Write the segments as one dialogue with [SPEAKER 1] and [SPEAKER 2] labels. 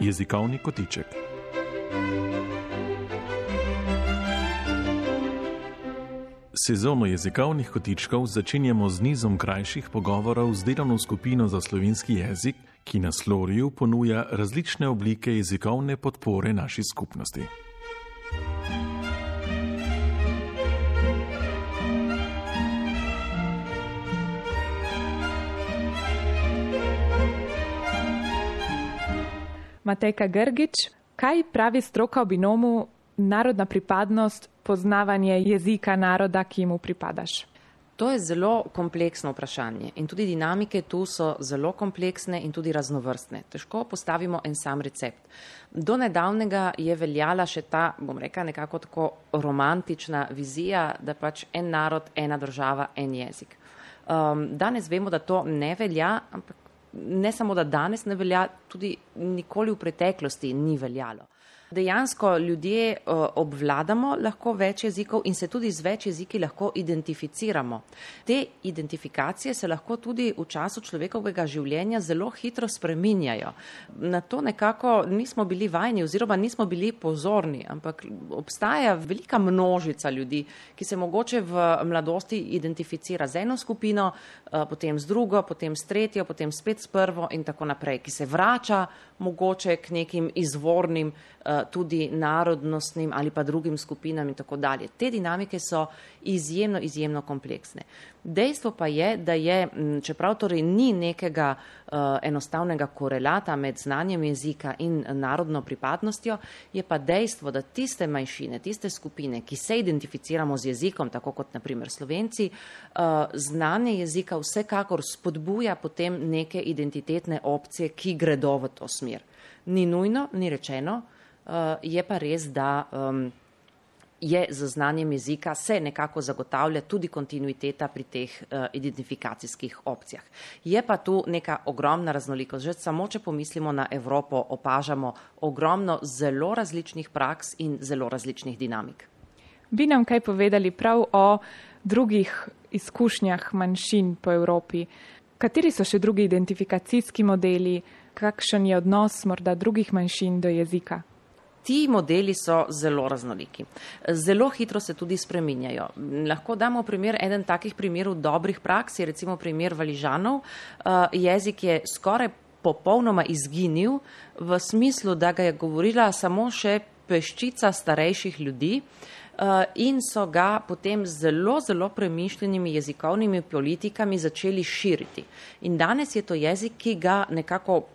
[SPEAKER 1] Jezikovni kotiček. Sezono jezikovnih kotičkov začenjamo z nizom krajših pogovorov z delovno skupino za slovenski jezik, ki na Sloriju ponuja različne oblike jezikovne podpore naši skupnosti.
[SPEAKER 2] Matejka Grgič, kaj pravi stroka o binomu narodna pripadnost, poznavanje jezika naroda, ki mu pripadaš?
[SPEAKER 3] To je zelo kompleksno vprašanje in tudi dinamike tu so zelo kompleksne in tudi raznovrstne. Težko postavimo en sam recept. Do nedavnega je veljala še ta, bom rekla, nekako tako romantična vizija, da pač en narod, ena država, en jezik. Danes vemo, da to ne velja, ampak ne samo, da danes ne velja, tudi nikoli v preteklosti ni veljalo. Dejansko ljudje obvladamo lahko več jezikov in se tudi z več jeziki lahko identificiramo. Te identifikacije se lahko tudi v času človekovega življenja zelo hitro spreminjajo. Na to nekako nismo bili vajeni oziroma nismo bili pozorni, ampak obstaja velika množica ljudi, ki se mogoče v mladosti identificira z eno skupino, potem z drugo, potem s tretjo, potem spet s prvo in tako naprej, ki se vrača mogoče k nekim izvornim tudi narodnostnim ali pa drugim skupinam in tako dalje. Te dinamike so izjemno kompleksne. Dejstvo pa je, da je, čeprav torej ni nekega enostavnega korelata med znanjem jezika in narodno pripadnostjo, je pa dejstvo, da tiste manjšine, tiste skupine, ki se identificiramo z jezikom, tako kot na primer Slovenci, znanje jezika vsekakor spodbuja potem neke identitetne opcije, ki gredo v to smer. Ni nujno, ni rečeno, je pa res, da je z znanjem jezika se nekako zagotavlja tudi kontinuiteta pri teh identifikacijskih opcijah. Je pa tu neka ogromna raznolikost. Že samo, če pomislimo na Evropo, opažamo ogromno zelo različnih praks in zelo različnih dinamik.
[SPEAKER 2] Bi nam kaj povedali prav o drugih izkušnjah manjšin po Evropi? Kateri so še drugi identifikacijski modeli? Kakšen je odnos morda drugih manjšin do jezika?
[SPEAKER 3] Ti modeli so zelo raznoliki. Zelo hitro se tudi spreminjajo. Lahko damo primer, eden takih primerov dobrih praks, je recimo primer Valižanov. Jezik je skoraj popolnoma izginil v smislu, da ga je govorila samo še peščica starejših ljudi in so ga potem zelo premišljenimi jezikovnimi politikami začeli širiti. In danes je to jezik, ki ga nekako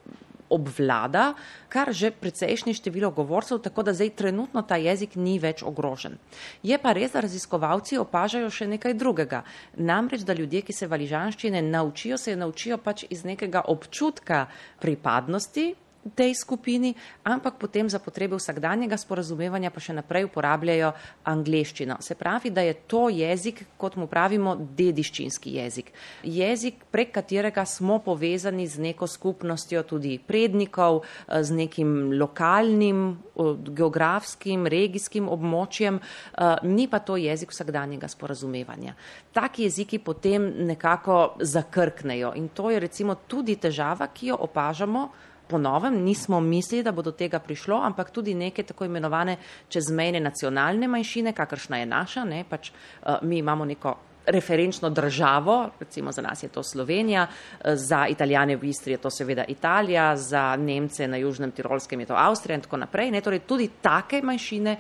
[SPEAKER 3] obvlada kar že precejšnje število govorcev, tako da zdaj trenutno ta jezik ni več ogrožen. Je pa res, da raziskovalci opažajo še nekaj drugega. Namreč, da ljudje, ki se valižanščine naučijo, se naučijo pač iz nekega občutka pripadnosti tej skupini, ampak potem za potrebe vsakdanjega sporazumevanja pa še naprej uporabljajo angleščino. Se pravi, da je to jezik, kot mu pravimo, dediščinski jezik. Jezik, prek katerega smo povezani z neko skupnostjo tudi prednikov, z nekim lokalnim, geografskim, regijskim območjem, ni pa to jezik vsakdanjega sporazumevanja. Taki jeziki potem nekako zakrknejo in to je recimo tudi težava, ki jo opažamo. Po novem nismo mislili, da bo do tega prišlo, ampak tudi neke tako imenovane čezmejne nacionalne manjšine, kakršna je naša, ne, pač mi imamo neko referenčno državo, recimo za nas je to Slovenija, za Italijane v Istri je to seveda Italija, za Nemce na Južnem Tirolskem je to Avstrija in tako naprej. Ne, torej tudi take manjšine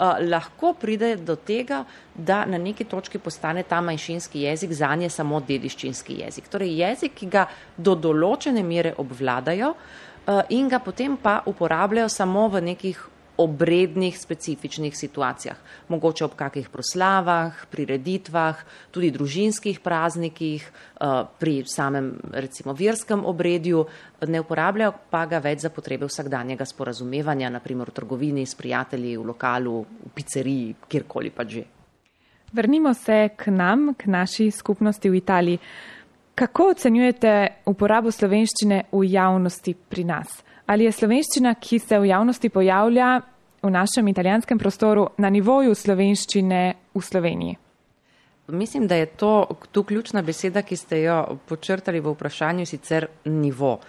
[SPEAKER 3] lahko pride do tega, da na neki točki postane ta manjšinski jezik zanje samo dediščinski jezik. Torej jezik, ki ga do določene mere obvladajo in ga potem pa uporabljajo samo v nekih obrednih, specifičnih situacijah. Mogoče ob kakih proslavah, prireditvah, tudi družinskih praznikih, pri samem recimo verskem obredju, ne uporabljajo pa ga več za potrebe vsakdanjega sporazumevanja, na primer v trgovini, s prijatelji, v lokalu, v pizzeriji, kjerkoli pa že.
[SPEAKER 2] Vrnimo se k nam, k naši skupnosti v Italiji. Kako ocenjujete uporabo slovenščine v javnosti pri nas? Ali je slovenščina, ki se v javnosti pojavlja v našem italijanskem prostoru, na nivoju slovenščine v Sloveniji?
[SPEAKER 3] Mislim, da je to tu ključna beseda, ki ste jo počrtali v vprašanju, sicer nivo.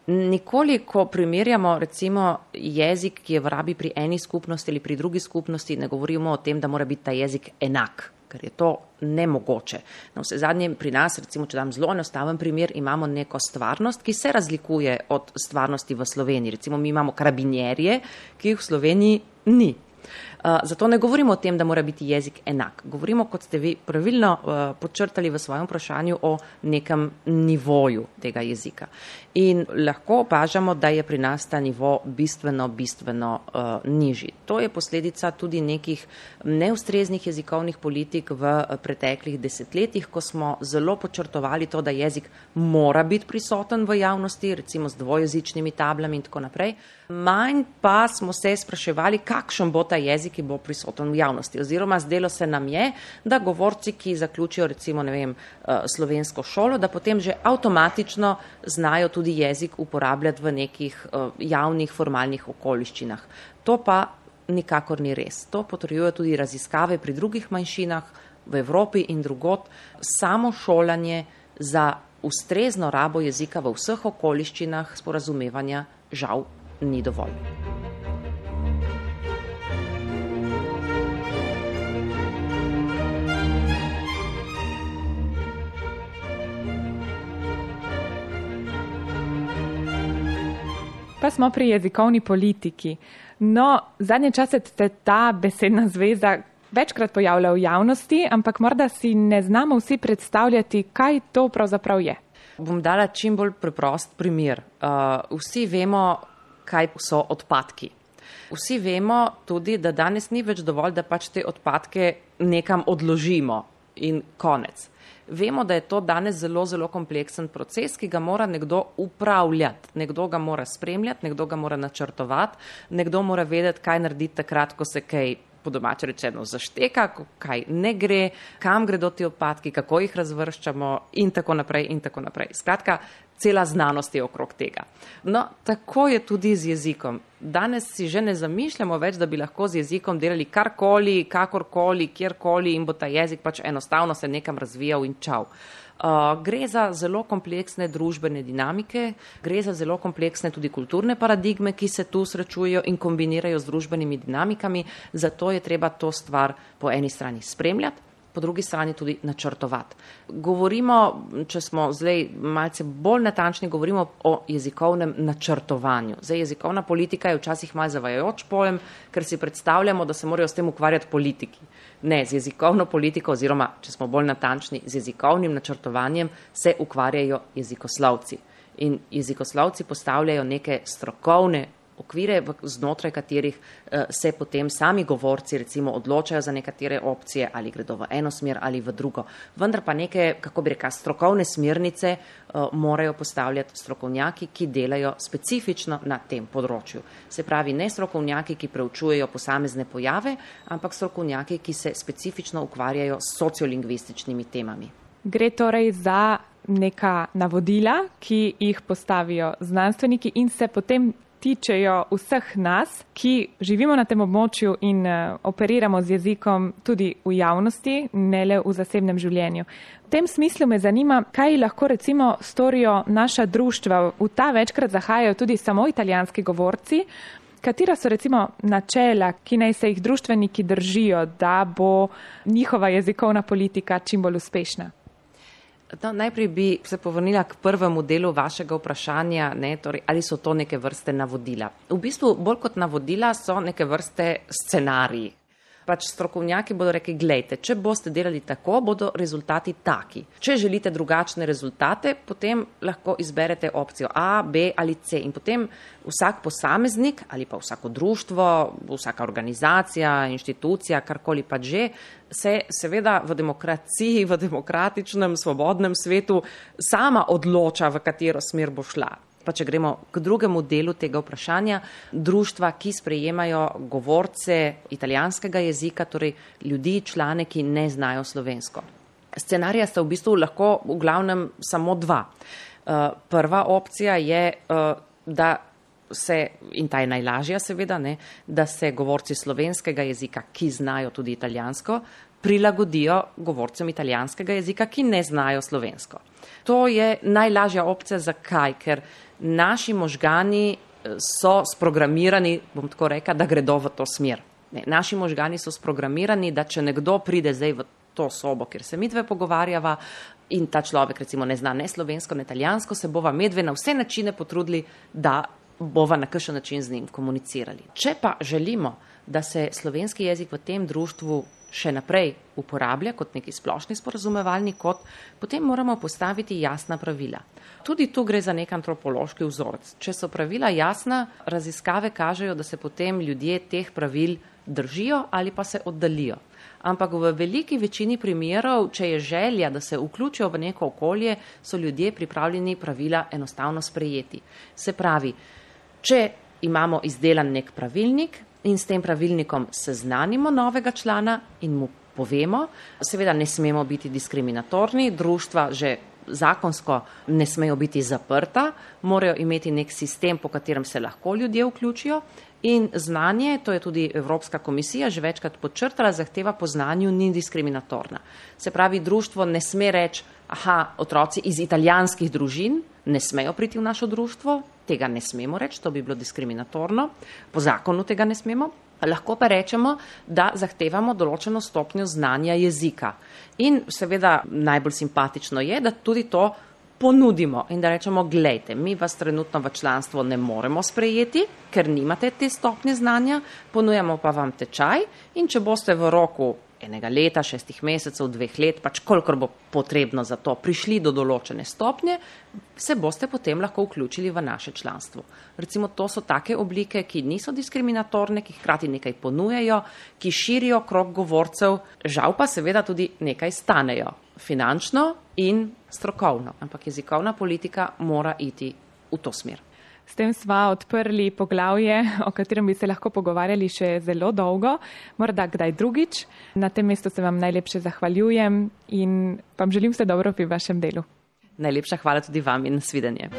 [SPEAKER 3] Nikoli, ko primerjamo recimo jezik, ki je v rabi pri eni skupnosti ali pri drugi skupnosti, ne govorimo o tem, da mora biti ta jezik enak, ker je to nemogoče. Na vse zadnje pri nas, recimo, če dam zelo enostaven primer, imamo neko stvarnost, ki se razlikuje od stvarnosti v Sloveniji. Recimo, mi imamo karabinjerje, ki jih v Sloveniji ni. Zato ne govorimo o tem, da mora biti jezik enak. Govorimo, kot ste vi pravilno podčrtali v svojem vprašanju, o nekem nivoju tega jezika. In lahko opažamo, da je pri nas ta nivo bistveno nižji. To je posledica tudi nekih neustreznih jezikovnih politik v preteklih desetletjih, ko smo zelo podčrtovali to, da jezik mora biti prisoten v javnosti, recimo z dvojezičnimi tablami in tako naprej. Manj pa smo se spraševali, kakšen bo ta jezik, ki bo prisoten v javnosti. Oziroma zdelo se nam je, da govorci, ki zaključijo recimo, slovensko šolo, da potem že avtomatično znajo tudi jezik uporabljati v nekih javnih formalnih okoliščinah. To pa nikakor ni res. To potrjujejo tudi raziskave pri drugih manjšinah v Evropi in drugod. Samo šolanje za ustrezno rabo jezika v vseh okoliščinah sporazumevanja žal ni dovolj.
[SPEAKER 2] Pa smo pri jezikovni politiki. No, zadnje čase se ta besedna zveza večkrat pojavlja v javnosti, ampak morda si ne znamo vsi predstavljati, kaj to pravzaprav je.
[SPEAKER 3] Bom dala čim bolj preprost primer. Vsi vemo, kaj so odpadki. Vsi vemo tudi, da danes ni več dovolj, da pač te odpadke nekam odložimo in konec. Vemo, da je to danes zelo kompleksen proces, ki ga mora nekdo upravljati. Nekdo ga mora spremljati, nekdo ga mora načrtovati, nekdo mora vedeti, kaj narediti takrat, ko se kaj po domače rečeno zašteka, kaj ne gre, kam gredo ti odpadki, kako jih razvrščamo in tako naprej in tako naprej. Skratka, cela znanost je okrog tega. No, tako je tudi z jezikom. Danes si že ne zamišljamo več, da bi lahko z jezikom delali karkoli, kakorkoli, kjerkoli in bo ta jezik pač enostavno se nekam razvijal in čau. Gre za zelo kompleksne družbene dinamike, gre za zelo kompleksne tudi kulturne paradigme, ki se tu srečujejo in kombinirajo z družbenimi dinamikami, zato je treba to stvar po eni strani spremljati, po drugi strani tudi načrtovati. Govorimo, če smo zdaj malce bolj natančni, govorimo o jezikovnem načrtovanju. Zdaj, jezikovna politika je včasih malo zavajajoč pojem, ker si predstavljamo, da se morajo s tem ukvarjati politiki. Ne, z jezikovno politiko oziroma, če smo bolj natančni, z jezikovnim načrtovanjem se ukvarjajo jezikoslovci. In jezikoslovci postavljajo neke strokovne okvire, znotraj katerih se potem sami govorci recimo odločajo za nekatere opcije, ali gredo v eno smer ali v drugo. Vendar pa neke, kako bi rekla, strokovne smernice morajo postavljati strokovnjaki, ki delajo specifično na tem področju. Se pravi, ne strokovnjaki, ki preučujejo posamezne pojave, ampak strokovnjaki, ki se specifično ukvarjajo s sociolingvističnimi temami.
[SPEAKER 2] Gre torej za neka navodila, ki jih postavijo znanstveniki in se potem tičejo vseh nas, ki živimo na tem območju in operiramo z jezikom tudi v javnosti, ne le v zasebnem življenju. V tem smislu me zanima, kaj lahko recimo storijo naša društva. V ta večkrat zahajajo tudi samo italijanski govorci. Katera so recimo načela, ki naj se jih društveniki držijo, da bo njihova jezikovna politika čim bolj uspešna?
[SPEAKER 3] No, najprej bi se povrnila k prvemu delu vašega vprašanja, torej, ali so to neke vrste navodila. V bistvu bolj kot navodila so neke vrste scenariji. Pač strokovnjaki bodo rekli, glejte, če boste delali tako, bodo rezultati taki. Če želite drugačne rezultate, potem lahko izberete opcijo A, B ali C. In potem vsak posameznik ali pa vsako društvo, vsaka organizacija, inštitucija, karkoli pa že, se seveda v demokraciji, v demokratičnem, svobodnem svetu sama odloča, v katero smer bo šla. Pa če gremo k drugemu delu tega vprašanja, društva, ki sprejemajo govorce italijanskega jezika, torej ljudi, člane, ki ne znajo slovensko. Scenarija sta v bistvu lahko v glavnem samo dva. Prva opcija je, da in ta je najlažja seveda, ne, da se govorci slovenskega jezika, ki znajo tudi italijansko, prilagodijo govorcem italijanskega jezika, ki ne znajo slovensko. To je najlažja opcija. Zakaj? Ker naši možgani so sprogramirani, bom tako rekla, da gredo v to smer. Ne, naši možgani so sprogramirani, da če nekdo pride zdaj v to sobo, kjer se midve pogovarjava in ta človek recimo ne zna ne slovensko, ne italijansko, se bova medve na vse načine potrudili, da bova na kakšen način z njim komunicirali. Če pa želimo, da se slovenski jezik v tem društvu še naprej uporablja kot neki splošni sporazumevalni kod, potem moramo postaviti jasna pravila. Tudi tu gre za nek antropološki vzorec. Če so pravila jasna, raziskave kažejo, da se potem ljudje teh pravil držijo ali pa se oddalijo. Ampak v veliki večini primerov, če je želja, da se vključijo v neko okolje, so ljudje pripravljeni pravila enostavno sprejeti. Se pravi, če imamo izdelan nek pravilnik in s tem pravilnikom seznanimo novega člana in mu povemo, seveda ne smemo biti diskriminatorni, društva že zakonsko ne smejo biti zaprta, morajo imeti nek sistem, po katerem se lahko ljudje vključijo. In znanje, to je tudi Evropska komisija že večkrat podčrtala, zahteva po znanju ni diskriminatorna. Se pravi, društvo ne sme reči, otroci iz italijanskih družin ne smejo priti v našo društvo, tega ne smemo reči, to bi bilo diskriminatorno, po zakonu tega ne smemo. Lahko pa rečemo, da zahtevamo določeno stopnjo znanja jezika. In seveda najbolj simpatično je, da tudi to ponudimo in da rečemo, glejte, mi vas trenutno v članstvo ne moremo sprejeti, ker nimate te stopnje znanja, ponujamo pa vam tečaj in če boste v roku 1 leta, 6 mesecev, 2 let, pač kolikor bo potrebno za to, prišli do določene stopnje, se boste potem lahko vključili v naše članstvo. Recimo, to so take oblike, ki niso diskriminatorne, ki hkrati nekaj ponujejo, ki širijo krog govorcev, žal pa seveda tudi nekaj stanejo, finančno in strokovno, ampak jezikovna politika mora iti v to smer.
[SPEAKER 2] S tem sva odprli poglavje, o katerem bi se lahko pogovarjali še zelo dolgo, morda kdaj drugič. Na tem mestu se vam najlepše zahvaljujem in vam želim vse dobro pri vašem delu.
[SPEAKER 3] Najlepša hvala tudi vam in nasvidenje.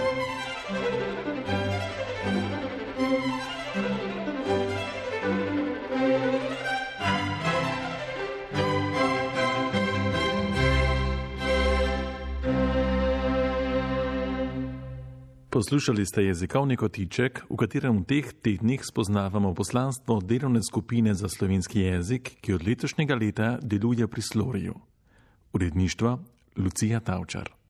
[SPEAKER 1] Poslušali ste jezikovni kotiček, v katerem v teh tednih spoznavamo poslanstvo delovne skupine za slovenski jezik, ki od letošnjega leta deluje pri Sloriju. Uredništvo Lucija Tavčar.